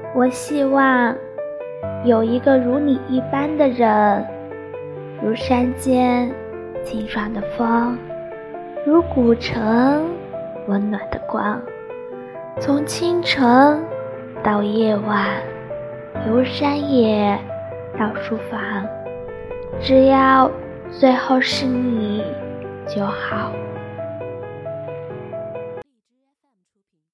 我希望有一个如你一般的人，如山间清爽的风，如古城温暖的光，从清晨到夜晚，由山野到书房，只要最后是你就好。